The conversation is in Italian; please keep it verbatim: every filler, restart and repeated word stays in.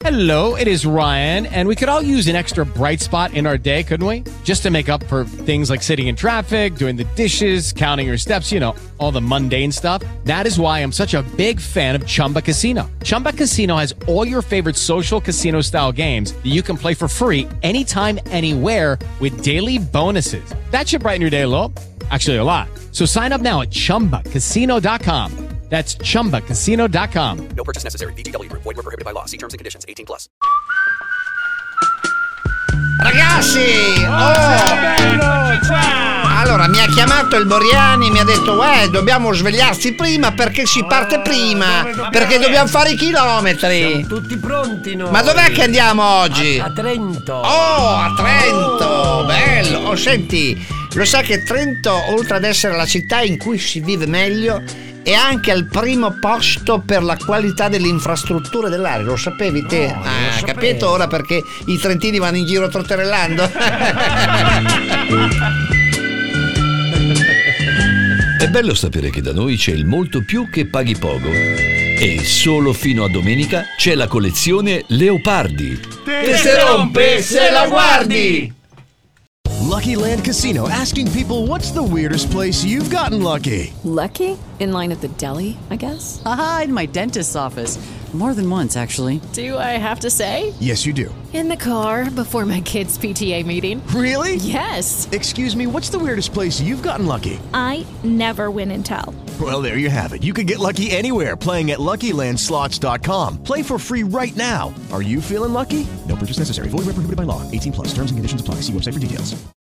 Hello, it is Ryan, and we could all use an extra bright spot in our day, couldn't we? Just to make up for things like sitting in traffic, doing the dishes, counting your steps, you know, all the mundane stuff. That is why I'm such a big fan of Chumba Casino. Chumba Casino has all your favorite social casino-style games that you can play for free anytime, anywhere with daily bonuses. That should brighten your day a little. Actually, a lot. So sign up now at chumba casino dot com. That's chumba casino dot com. No purchase necessary. V G W Group. Void where prohibited by law. See terms and conditions. eighteen plus. Ragazzi, oh! Allora mi ha chiamato il Boriani, mi ha detto uè, dobbiamo svegliarsi prima perché si parte prima, perché dobbiamo fare i chilometri. Siamo tutti pronti noi. Ma dov'è che andiamo oggi? A, a Trento. Oh, a Trento, bello. Oh, senti, lo sai che Trento, oltre ad essere la città in cui si vive meglio, è anche al primo posto per la qualità delle infrastrutture dell'aria. Lo sapevi te? No, ah, capito ora perché i trentini vanno in giro trotterellando? È bello sapere che da noi c'è il molto più che paghi poco. E solo fino a domenica c'è la collezione Leopardi. Che se rompe se la guardi! Lucky Land Casino, asking people, what's the weirdest place you've gotten lucky? Lucky? In line at the deli, I guess? Aha, in my dentist's office. More than once, actually. Do I have to say? Yes, you do. In the car before my kids' P T A meeting. Really? Yes. Excuse me, what's the weirdest place you've gotten lucky? I never win and tell. Well, there you have it. You can get lucky anywhere, playing at Lucky Land Slots dot com. Play for free right now. Are you feeling lucky? No purchase necessary. Void where prohibited by law. eighteen plus. Terms and conditions apply. See website for details.